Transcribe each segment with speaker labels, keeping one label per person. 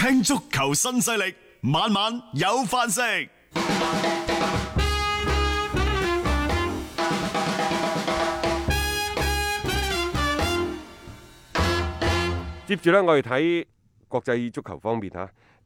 Speaker 1: 聽足球新勢力，晚晚有飯食。
Speaker 2: 接住呢，我哋睇國際足球方面嚇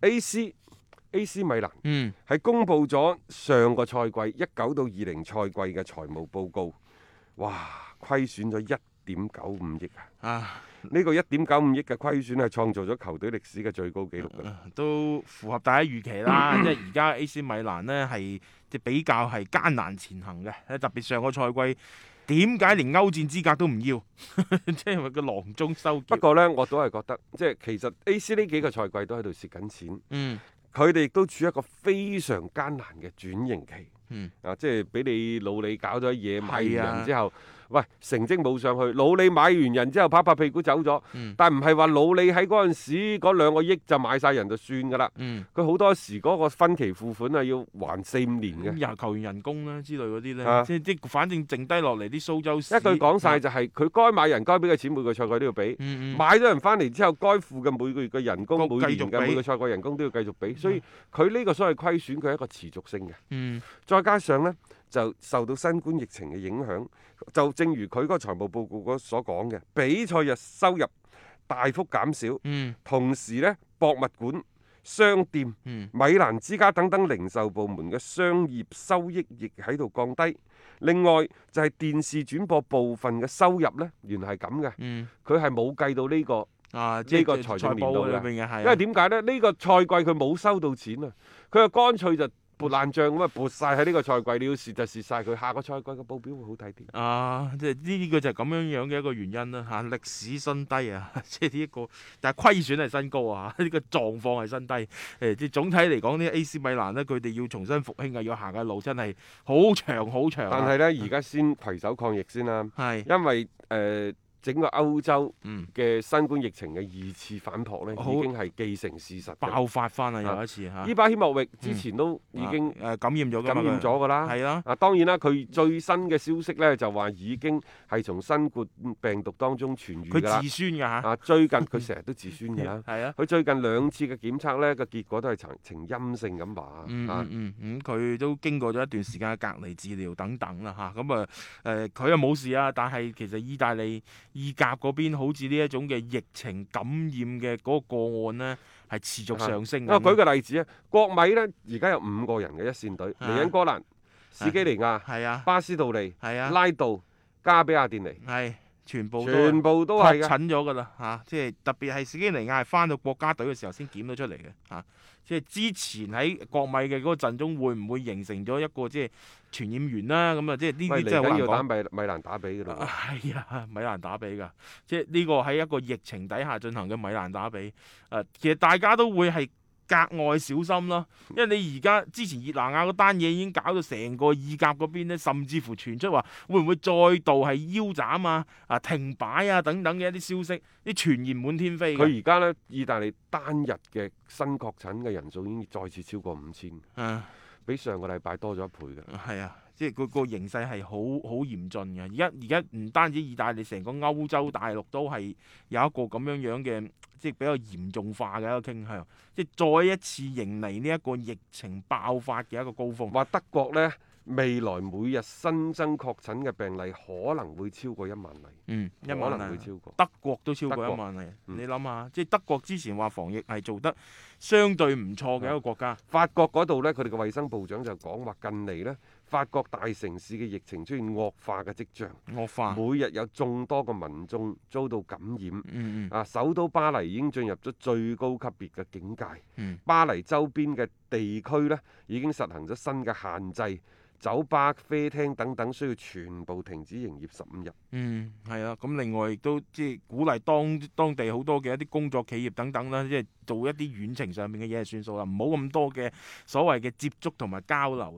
Speaker 2: ，AC 米蘭係公布咗上個賽季19到20賽季嘅財務報告，哇，虧損咗1.95億啊！呢個1.95億嘅虧損係創造咗球隊歷史嘅最高紀錄㗎。
Speaker 3: 都符合大家預期啦。因為而家 AC 米蘭呢係比較係艱難前行嘅，特別上個賽季點解連歐戰資格都唔要？即係因為個囊中羞澀。
Speaker 2: 不過呢，我都係覺得，即係其實 AC 呢幾個賽季都喺度蝕緊錢。佢哋亦都處於一個非常艱難嘅轉型期。即係俾你老李搞咗嘢，買完人之後，喂，成績冇上去，老李買完人之後拍拍屁股走咗。但唔係話老李喺嗰陣時嗰2個億就買晒人就算㗎啦。佢好多時嗰個分期付款係要還4-5年嘅。
Speaker 3: 又球員人工啦之類嗰啲咧，即係反正剩低落嚟啲蘇州市。
Speaker 2: 一句講晒就係佢該買人該俾嘅錢每個賽季都要俾。買咗人翻嚟之後，該付嘅每個月嘅人工、每年嘅每個賽季人工都要繼續俾。所以佢呢個所謂虧損，佢係一個持續性嘅。再加上呢，就受到新冠疫情嘅影響，就正如佢嗰個財務報告所講嘅，比賽日收入大幅減少，同時呢，博物館、商店、米蘭之家等等零售部門嘅商業收益亦喺度降低。另外就係電視轉播部分嘅收入呢，原來係咁嘅，佢係冇計到呢個呢個財政年度嘅，因為點解呢？呢個賽季佢冇收到錢啊，佢就乾脆就撥爛帳咁啊，撥晒喺呢個賽季，你要蝕就蝕晒佢，下個賽季嘅報表會好睇啲。
Speaker 3: 即係呢個就係咁樣樣嘅一個原因啦嚇，歷史新低啊，即係呢一個，但係虧損係新高啊，呢個狀況係新低。即係總體嚟講呢 AC 米蘭呢，佢哋要重新復興啊，要行嘅路真係好長好長。
Speaker 2: 但係呢，而家先攜手抗疫先啦，因為整個歐洲嘅新冠疫情嘅2次反撲呢，已經係既成事實，
Speaker 3: 爆發翻啦又一次嚇。
Speaker 2: 伊巴希莫域之前都已經
Speaker 3: 感染咗
Speaker 2: 㗎啦，係啦。當然啦，佢最新嘅消息呢，就話已經係從新冠病毒當中痊愈㗎啦。
Speaker 3: 佢自酸㗎嚇。
Speaker 2: 最近佢成日都自酸㗎啦。
Speaker 3: 係啊。
Speaker 2: 佢最近2次嘅檢測呢，個結果都係呈陰性咁話。
Speaker 3: 佢都經過咗一段時間嘅隔離治療等等啦嚇。咁佢又冇事啊，但係其實意大利意甲嗰邊好似呢一種嘅疫情感染嘅嗰個個案呢，係持續上升。
Speaker 2: 我舉個例子啊，國米呢而家有5個人嘅一線隊，尼恩哥蘭、史基尼亞、巴斯杜利、拉杜、加比亞甸尼，
Speaker 3: 全部
Speaker 2: 都係
Speaker 3: 確診咗㗎啦嚇。即係特別係史基尼亞係翻到國家隊嘅時候先檢到出嚟嘅嚇。即係之前喺國米嘅嗰個陣中會唔會形成咗一個即係傳染源啦？咁啊，即係呢啲真係好難講。
Speaker 2: 要打米蘭打比㗎啦。
Speaker 3: 係啊，米蘭打比㗎。即係呢個喺一個疫情底下進行嘅米蘭打比。其實大家都會係格外小心咯，因為你而家之前熱拿亞嗰單嘢已經搞到成個意甲嗰邊咧，甚至乎傳出話會唔會再度係腰斬停擺等等嘅一啲消息，啲傳言滿天飛。
Speaker 2: 佢而家呢，意大利單日嘅新確診嘅人數已經再次超過5000，比上個禮拜多咗1倍嘅。
Speaker 3: 係啊，即係個形勢係好嚴峻嘅。而家唔單止意大利，成個歐洲大陸都係有一個咁樣嘅，即係比較嚴重化嘅一個傾向，即係再一次迎嚟呢一個疫情爆發嘅一個高峰。
Speaker 2: 話德國呢，未來每日新增確診嘅病例可能會超過1萬例。
Speaker 3: 1萬例
Speaker 2: 可能會超過。
Speaker 3: 德國都超過1萬例。你諗下，即係德國之前話防疫係做得相對唔錯嘅一個國家。
Speaker 2: 法國嗰度呢，佢哋嘅衛生部長就講話，近嚟呢，法國大城市嘅疫情出現惡化嘅跡象。每日有眾多嘅民眾遭到感染。首都巴黎已經進入咗最高級別嘅警戒。巴黎周邊嘅地區呢，已經實行咗新嘅限制。酒吧、啡廳等等需要全部停止營業15日。
Speaker 3: 係啊，咁另外亦都即係鼓勵當地好多嘅一啲工作企業等等啦，即係做一啲遠程上面嘅嘢係算數啦，唔好咁多嘅所謂嘅接觸同埋交流啦。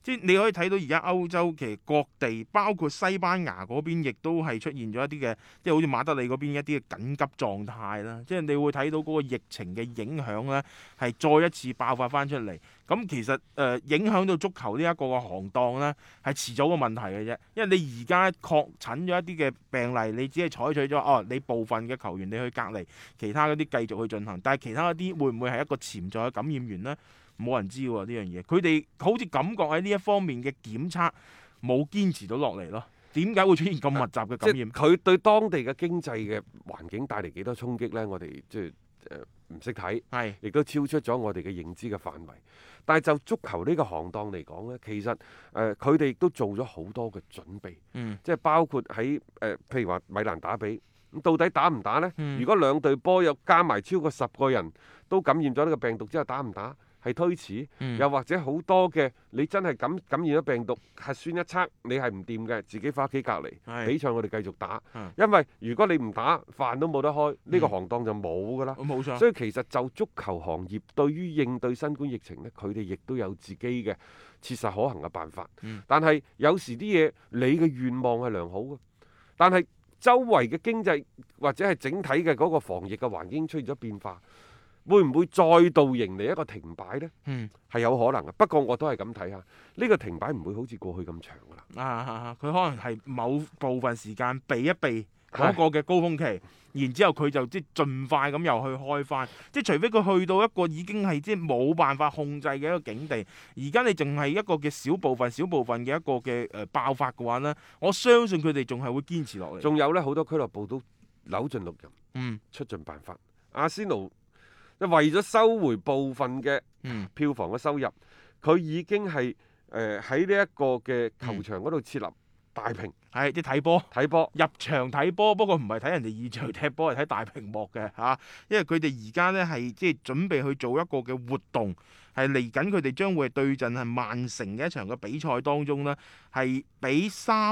Speaker 3: 即係你可以睇到而家歐洲其實各地，包括西班牙嗰邊，亦都係出現咗一啲嘅，即係好似馬德里嗰邊一啲嘅緊急狀態啦。即係你會睇到嗰個疫情嘅影響呢，係再一次爆發翻出嚟。咁其實影響到足球呢一個嘅行當呢，係遲早個問題嘅啫。因為你而家確診咗一啲嘅病例，你只係採取咗你部分嘅球員你去隔離，其他嗰啲繼續去進行，但係其他嗰啲會唔會係一個潛在嘅感染源呢？冇人知喎呢樣嘢，佢哋好似感覺喺呢一方面嘅檢測冇堅持到落嚟咯。點解會出現咁密集嘅感染？
Speaker 2: 佢對當地嘅經濟嘅環境帶嚟幾多衝擊呢？我哋即係唔識睇，亦都超出咗我哋嘅認知嘅範圍。但係就足球呢個行當嚟講呢，其實佢哋亦都做咗好多嘅準備，即係包括喺譬如話米蘭打比，咁到底打唔打呢？如果兩隊波又加埋超過10個人都感染咗呢個病毒之後，打唔打？係推遲，又或者好多嘅你真係感染咗病毒，核酸一測你係唔掂嘅，自己翻屋企隔離。比賽我哋繼續打，因為如果你唔打，飯都冇得開，呢個行當就冇㗎啦。
Speaker 3: 冇錯。
Speaker 2: 所以其實就足球行業對於應對新冠疫情呢，佢哋亦都有自己嘅切實可行嘅辦法。但係有時啲嘢你嘅願望係良好嘅，但係周圍嘅經濟或者係整體嘅嗰個防疫嘅環境出現咗變化。會唔會再度迎嚟一個停擺呢？係有可能嘅。不過我都係咁睇下，呢個停擺唔會好似過去咁長㗎啦。
Speaker 3: 佢可能係某部分時間避一避嗰個嘅高峰期，然之後佢就即係盡快咁又去開翻。即係除非佢去到一個已經係即係冇辦法控制嘅一個境地，而家你淨係一個嘅小部分嘅一個嘅爆發嘅話呢，我相信佢哋仲係會堅持落嚟。
Speaker 2: 仲有呢，好多俱樂部都扭盡六壬，出盡辦法。阿仙奴為咗收回部分嘅票房嘅收入，佢已經係喺呢一個嘅球場嗰度設立大屏，
Speaker 3: 係啲睇波入場睇波，不過唔係睇人哋現場踢波，係睇大屏幕嘅嚇。因為佢哋而家呢係即係準備去做一個嘅活動，係嚟緊佢哋將會對陣係曼城嘅一場嘅比賽當中呢，係俾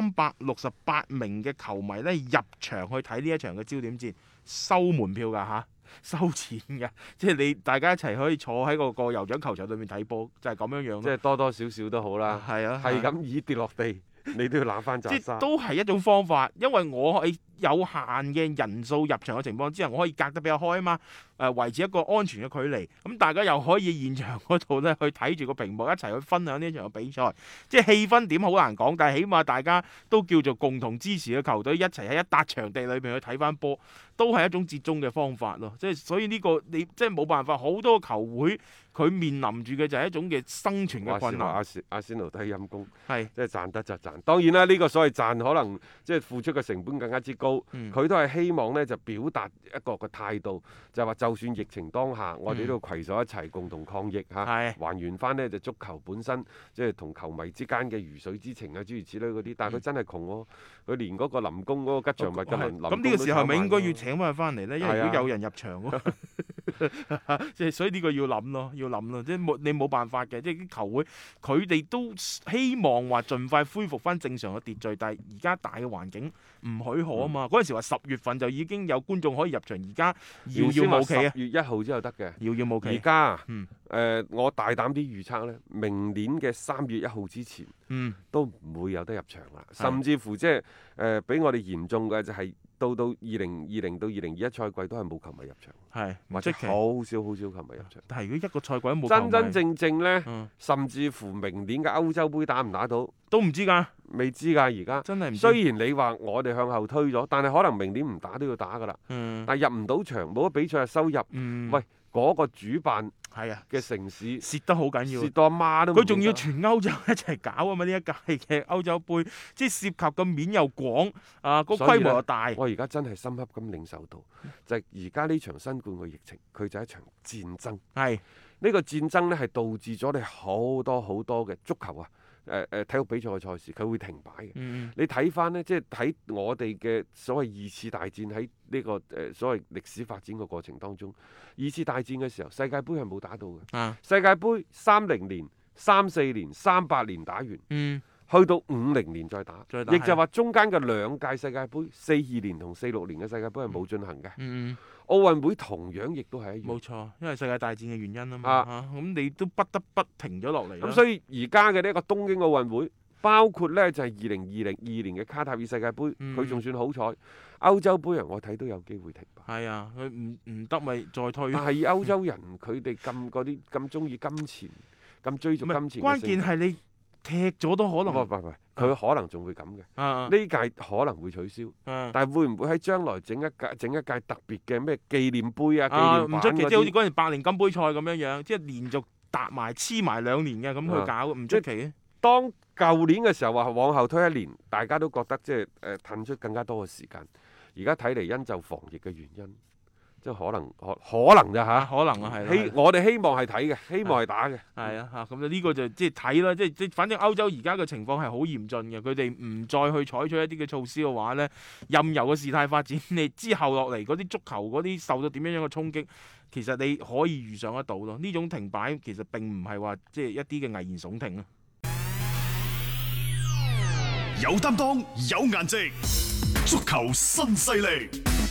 Speaker 3: 368名嘅球迷呢入場去睇呢一場嘅焦點戰，收門票㗎嚇。收錢嘅，即係你大家一齊可以坐喺個酋長球場裏面睇波，就係咁樣樣。
Speaker 2: 即係多多少少都好啦。係咁以跌落地，你都要攬翻紮沙。
Speaker 3: 都係一種方法，因為我係有限嘅人數入場嘅情況之下，我可以隔得比較開啊嘛。維持一個安全嘅距離，咁大家又可以現場嗰度呢去睇住個屏幕一齊去分享呢場嘅比賽，即係氣氛點好難講，但係起碼大家都叫做共同支持嘅球隊一齊喺一笪場地裏邊去睇翻波，都係一種折中嘅方法咯。即係所以呢個你即係冇辦法，好多球會佢面臨住嘅就係一種嘅生存嘅困難。
Speaker 2: 阿仙奴都係陰公，
Speaker 3: 係
Speaker 2: 即係賺得就賺。當然啦，呢個所謂賺可能即係付出嘅成本更加之高，佢都係希望呢就表達一個嘅態度，就係話就算疫情當下，我哋都要攜手一齊共同抗疫嚇，還原翻呢就足球本身即係同球迷之間嘅魚水之情啊，諸如此類嗰啲。但係佢真係窮喎，佢連嗰個臨工嗰個吉祥物嘅臨工都炒埋。咁呢個時候咪應該要請翻佢翻嚟呢？因為如果有人入場喎，即係所以呢個要諗咯，即係你冇辦法嘅，即係啲球會佢哋都希望話盡快恢復翻正常嘅秩序，但係而家大嘅環境唔許可啊嘛。嗰陣時話10月份就已經有觀眾可以入場，而家遙遙無期啊！10月1號之後得嘅，遙遙無期。而家我大膽啲預測呢，明年嘅3月1號之前，都唔會有得入場啦。甚至乎即係比我哋嚴重嘅就係到2020到2021賽季都係冇球迷入場，或者好少球迷入場。
Speaker 3: 但係如果一個賽季都冇球迷，
Speaker 2: 真真正正呢，甚至乎明年嘅歐洲杯打唔打到
Speaker 3: 都唔知㗎，
Speaker 2: 未知㗎。而家
Speaker 3: 真係唔知。
Speaker 2: 雖然你話我哋向後推咗，但係可能明年唔打都要打㗎啦。但係入唔到場，冇得比賽嘅收入，喂，嗰個主辦嘅城市
Speaker 3: 蝕得好緊要，
Speaker 2: 蝕到阿媽都。
Speaker 3: 佢仲要全歐洲一齊搞啊嘛！呢一屆嘅歐洲杯，即係涉及嘅面又廣，個規模又大。
Speaker 2: 我而家真係深刻咁領受到，就係而家呢場新冠嘅疫情，佢就係一場戰爭。呢個戰爭呢，係導致咗你好多嘅足球啊！體育比賽嘅賽事佢會停擺嘅。你睇翻呢，即係睇我哋嘅所謂2次大戰喺呢個所謂歷史發展嘅過程當中，2次大戰嘅時候世界盃係冇打到嘅。世界盃30年、34年、38年打完， 去到50年再打，
Speaker 3: 再打
Speaker 2: 亦就話中間嘅2屆世界盃42年同46年嘅世界盃係冇進行嘅。奧運會同樣亦都係一樣。
Speaker 3: 冇錯，因為世界大戰嘅原因啊嘛。咁你都不得不停咗落嚟。
Speaker 2: 咁所以而家嘅呢一個東京奧運會，包括呢就係2022年嘅卡塔爾世界盃，佢仲算好彩。歐洲杯人我睇都有機會停擺。
Speaker 3: 係啊，佢唔得咪再推。
Speaker 2: 但係歐洲人佢哋咁中意金錢，咁追逐金錢。
Speaker 3: 關鍵係你踢咗都可能。
Speaker 2: 唔，佢可能仲會咁嘅。呢屆可能會取消。但係會唔會喺將來整一屆特別嘅咩紀念杯啊？紀念版
Speaker 3: 唔出奇，即係好似嗰陣百年金杯賽咁樣樣，即係連續搭埋黐埋2年嘅咁去搞，唔出奇嘅。
Speaker 2: 當舊年嘅時候話往後推1年，大家都覺得即係騰出更加多嘅時間。而家睇嚟因就防疫嘅原因，即係可能咋嚇？
Speaker 3: 可能啊，係。
Speaker 2: 我哋希望係睇嘅，希望係打嘅。
Speaker 3: 係啊，咁呢個就即係睇啦，即係反正歐洲而家嘅情況係好嚴峻嘅，佢哋唔再去採取一啲嘅措施嘅話呢，任由個事態發展，你之後落嚟嗰啲足球嗰啲受到點樣嘅衝擊，其實你可以預想得到咯。呢種停擺其實並唔係話即係一啲嘅危言聳聽啊。
Speaker 1: 有擔當，有顏值，足球新勢力。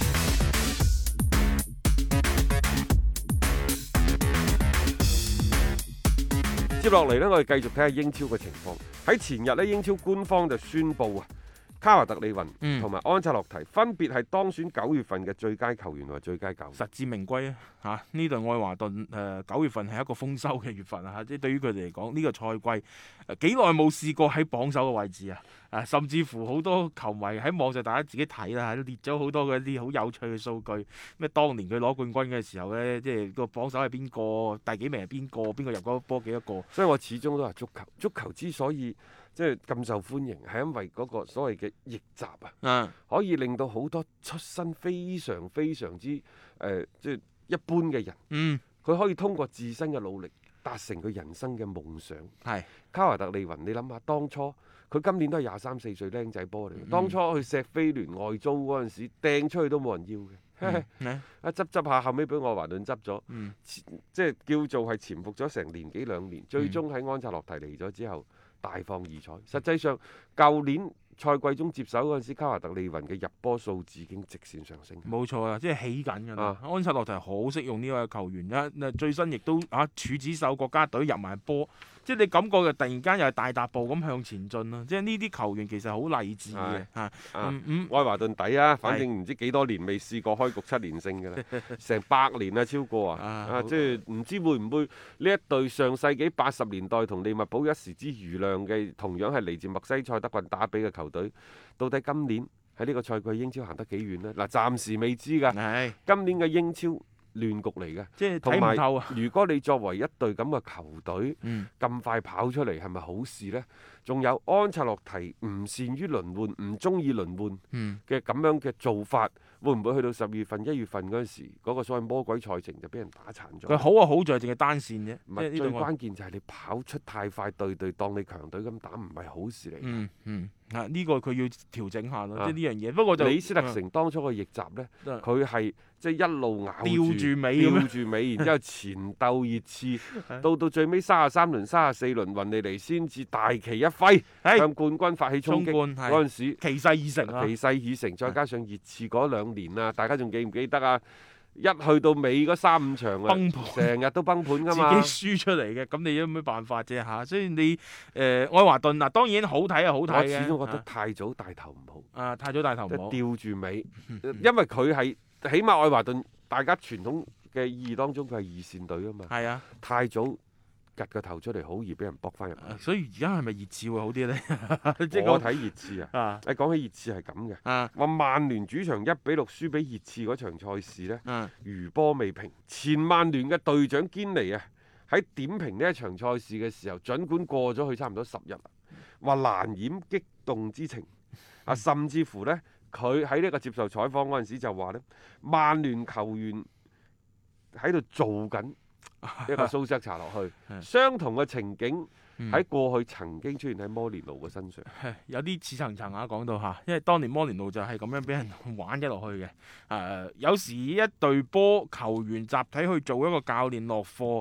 Speaker 2: 接落嚟呢，我哋繼續睇下英超嘅情況。喺前日呢，英超官方就宣布啊，卡華特利雲同埋安察洛提分別係當選9月份嘅最佳球員同埋最佳教練，
Speaker 3: 實至名歸啊！呢隊愛華頓9月份係一個豐收嘅月份啊！即係對於佢哋嚟講，呢個賽季幾耐冇試過喺榜首嘅位置啊！甚至乎好多球迷喺網上大家自己睇啦，列咗好多嗰啲好有趣嘅數據。咩當年佢攞冠軍嘅時候呢，即係個榜首係邊個，第幾名係邊個，邊個入嗰波幾多個？
Speaker 2: 所以我始終都係足球之所以即係咁受歡迎，係因為嗰個所謂嘅逆襲啊，可以令到好多出身非常非常之即係一般嘅人，佢可以通過自身嘅努力達成佢人生嘅夢想。係卡華特利雲，你諗下當初佢今年都係23、24歲僆仔波嚟，當初去錫菲聯外租嗰陣時掟出去都冇人要嘅，執下後尾俾愛華頓執咗，即係叫做係潛伏咗成年幾2年，最終喺安察洛提嚟咗之後大放異彩。實際上舊年賽季中接手嗰陣時，卡華特利雲嘅入波數字已經直線上升。冇
Speaker 3: 錯啊，即係起緊㗎啦。安察洛提好識用呢位球員啦，最新亦都處子手國家隊入埋波。即係你感覺就突然間又係大踏步咁向前進咯，即係呢啲球員其實好勵志嘅嚇。
Speaker 2: 愛華頓抵啊，反正唔知幾多年未試過開局7連勝㗎啦，成100年啊超過即係唔知會唔會呢一隊上世紀80年代同利物浦一時之瑜亮嘅，同樣係嚟自墨西塞德郡打比嘅球隊，到底今年喺呢個賽季英超行得幾遠呢？嗱，暫時未知㗎。今年嘅英超亂局嚟嘅，
Speaker 3: 即係睇唔透啊！
Speaker 2: 如果你作為一隊咁嘅球隊，咁快跑出嚟係咪好事呢？仲有安察洛提唔善於輪換，唔中意輪換嘅咁樣嘅做法，會唔會去到12月份、1月份嗰陣時，嗰個所謂魔鬼賽程就俾人打殘咗？
Speaker 3: 佢好啊，好在淨係單線啫。
Speaker 2: 唔係最關鍵就係你跑出太快，隊當你強隊咁打，唔係好事嚟。
Speaker 3: 呢個佢要調整下咯，即係呢樣嘢。不過就
Speaker 2: 李斯特城當初個逆襲呢，佢係即係一路咬
Speaker 3: 吊住尾，
Speaker 2: 然之後前鬥熱刺，到最尾33輪、34輪，雲尼尼先至大旗一揮，向冠軍發起衝擊。嗰陣時
Speaker 3: 氣勢已成啊！
Speaker 2: 氣勢已成，再加上熱刺嗰2年啊，大家仲記唔記得啊？一去到尾嗰3、5場啊，
Speaker 3: 崩盤，
Speaker 2: 成日都崩盤㗎嘛，
Speaker 3: 自己輸出嚟嘅，咁你有咩辦法啫嚇？所以你愛華頓嗱，當然好睇係好睇嘅。我
Speaker 2: 始終覺得太早帶頭唔好。
Speaker 3: 太早帶頭唔好。
Speaker 2: 吊住尾，因為佢係起碼愛華頓，大家傳統嘅意義當中佢係2線隊啊嘛。係啊，太早趌個頭出嚟，好易俾人搏翻入嚟。
Speaker 3: 所以而家係咪熱刺會好啲呢？
Speaker 2: 我睇熱刺啊！你講起熱刺係咁嘅，話曼聯主場1-6輸俾熱刺嗰場賽事呢，餘波未平。前曼聯嘅隊長堅尼啊，喺點評呢一場賽事嘅時候，儘管過咗去差唔多10日，話難掩激動之情。甚至乎呢，佢喺呢個接受採訪嗰陣時就話呢，曼聯球員喺度做緊一個蘇斯查落去，相同嘅情景喺過去曾經出現喺摩連奴嘅身上，
Speaker 3: 有啲似層層講到嚇，因為當年摩連奴就係咁樣俾人玩咗落去嘅。有時一隊波球員集體去做一個教練落課，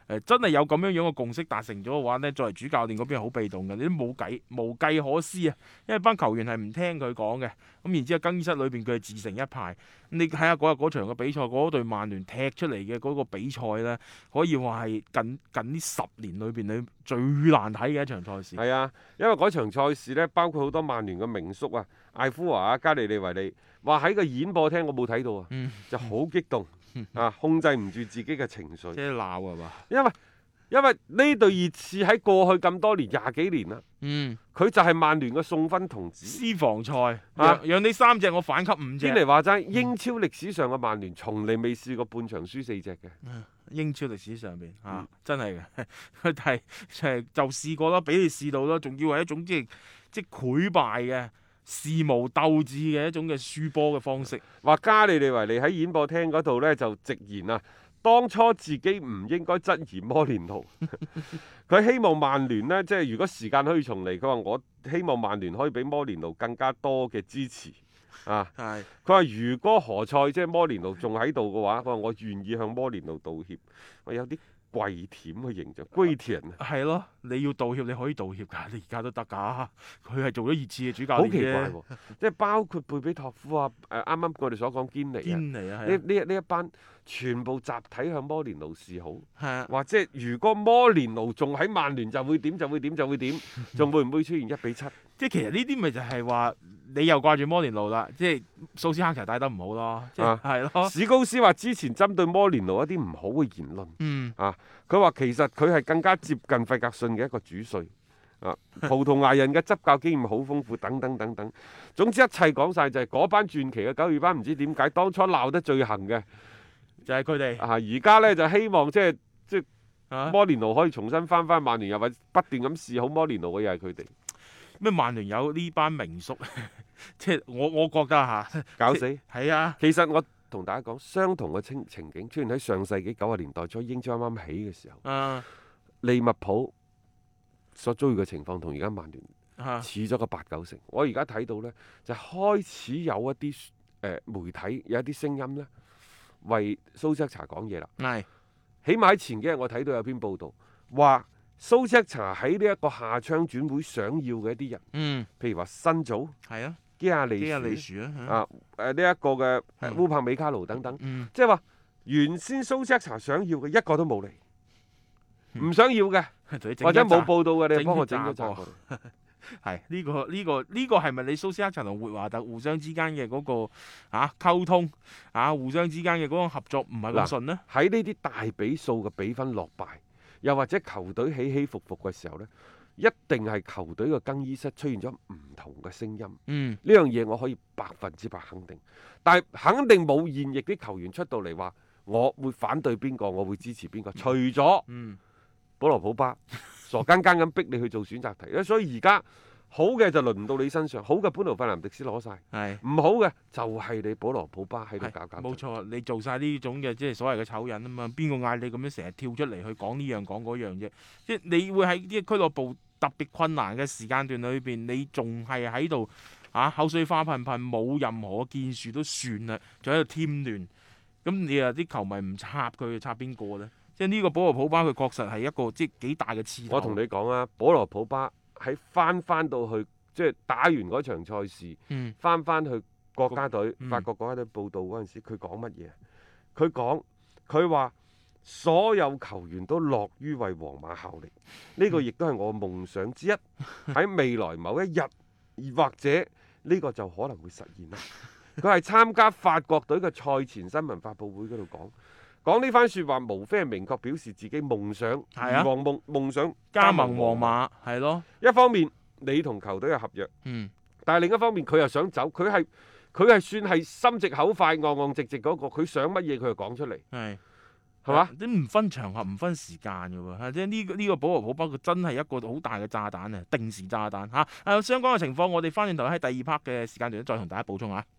Speaker 3: 真係有咁樣樣嘅共識達成咗嘅話呢，作為主教練嗰邊係好被動嘅，你都冇計無計可施啊！因為班球員係唔聽佢講嘅，咁然之後更衣室裏邊佢係自成一派。你睇下嗰日嗰場嘅比賽，嗰隊曼聯踢出嚟嘅嗰個比賽呢，可以話係近呢10年裏邊你最難睇嘅一場賽事。
Speaker 2: 係啊，因為嗰場賽事呢，包括好多曼聯嘅名宿啊，艾夫華啊、加利利維利，話喺個演播廳我冇睇到啊，就好激動啊，控制唔住自己嘅情緒。
Speaker 3: 即係鬧係嘛？
Speaker 2: 因為呢隊熱刺喺過去咁多年20幾年啦，佢就係曼聯嘅送分童子。
Speaker 3: 私房菜，讓你3隻我反給5隻。
Speaker 2: 天嚟話齋，英超歷史上嘅曼聯從嚟未試過半場輸4隻嘅。
Speaker 3: 英超歷史上邊真係嘅，佢係就試過啦，俾你試到啦，仲要係一種即係潰敗嘅事無鬥志嘅一種嘅輸波嘅方式。
Speaker 2: 話加利利維利喺演播廳嗰度呢，就直言啊，當初自己唔應該質疑摩連奴，佢希望曼聯呢，即係如果時間可以重嚟，佢話我希望曼聯可以俾摩連奴更加多嘅支持啊。佢話如果何塞即係摩連奴仲喺度嘅話，佢話我願意向摩連奴道歉。我有啲跪舔嘅形象，跪舔啊！
Speaker 3: 係咯，你要道歉你可以道歉㗎，你而家都得㗎。佢係做咗熱刺嘅主教練。
Speaker 2: 好奇怪喎，即係包括貝比托夫啊，啱啱我哋所講堅尼啊，呢一班全部集體向摩連奴示好。或者如果摩連奴仲喺曼聯就會點，仲會唔會出現1-7？
Speaker 3: 即係其實呢啲咪就係話你又掛住摩連奴啦，即係蘇斯克查帶得唔好咯，係咯。
Speaker 2: 史高斯話之前針對摩連奴一啲唔好嘅言論，佢話其實佢係更加接近費格遜嘅一個主帥，葡萄牙人嘅執教經驗好豐富，等等等等。總之一切講晒就係嗰班傳奇嘅九二班，唔知點解當初鬧得最行嘅
Speaker 3: 就係佢哋。
Speaker 2: 而家呢，就希望即係摩連奴可以重新翻曼聯，又或者不斷咁示好摩連奴嘅又係佢哋。
Speaker 3: 咩曼聯有呢班名宿，即係我覺得
Speaker 2: 搞死。
Speaker 3: 係啊，
Speaker 2: 其實我同大家講，相同嘅情景出現喺上世紀90年代初英超啱啱起嘅時候，利物浦所遭遇嘅情況同而家曼聯似咗個8-9成。我而家睇到呢，就開始有一啲媒體有一啲聲音呢，為蘇斯克查講嘢啦。起碼喺前幾日我睇到有篇報道話，蘇斯克查喺呢一個夏窗轉會想要嘅一啲人，譬如話新組，基亞利殊呢一個嘅烏柏美卡奴等等，即係話原先蘇斯克查想要嘅一個都冇嚟，唔想要嘅或者冇報道嘅，你幫我整咗紮過嚟。
Speaker 3: 係呢個係咪你蘇斯克查同活華特互相之間嘅嗰個溝通互相之間嘅嗰種合作唔係咁順呢？
Speaker 2: 喺呢啲大比數嘅比分落敗，又或者球隊起起伏伏嘅時候呢，一定係球隊嘅更衣室出現咗唔同嘅聲音。呢樣嘢我可以100%肯定，但係肯定冇現役啲球員出到嚟話我會反對邊個，我會支持邊個。除咗保羅普巴傻更更咁逼你去做選擇題，所以而家好嘅就輪唔到你身上，好嘅本奴費南迪斯攞晒，唔好嘅就係你保羅普巴喺度搞。
Speaker 3: 冇錯，你做晒呢種嘅即係所謂嘅醜人啊嘛，邊個嗌你咁樣成日跳出嚟去講呢樣講嗰樣啫？即係你會喺啲俱樂部特別困難嘅時間段裏邊，你仲係喺度口水花噴噴，冇任何建樹都算啦，仲喺度添亂。咁你啲球迷唔插佢，插邊個呢？即係呢個保羅普巴佢確實係一個即係幾大嘅刺頭。
Speaker 2: 我同你講啊，保羅普巴喺翻到去即係打完嗰場賽事，翻去國家隊法國國家隊報道嗰陣時，佢講乜嘢？佢話所有球員都樂於為皇馬效力，呢個亦都係我夢想之一。喺未來某一日，或者呢個就可能會實現啦。佢係參加法國隊嘅賽前新聞發佈會嗰度講呢番説話，無非係明確表示自己夢想，夢想
Speaker 3: 加盟皇馬，係咯。
Speaker 2: 一方面你同球隊有合約，但係另一方面佢又想走，佢係算係心直口快、昂直嗰個，佢想乜嘢佢就講出嚟，係嘛？
Speaker 3: 你唔分場合、唔分時間嘅喎，即係呢個保羅普巴佢真係一個好大嘅炸彈啊！定時炸彈嚇。相關嘅情況，我哋翻轉頭喺第2 part 嘅時間段再同大家補充下。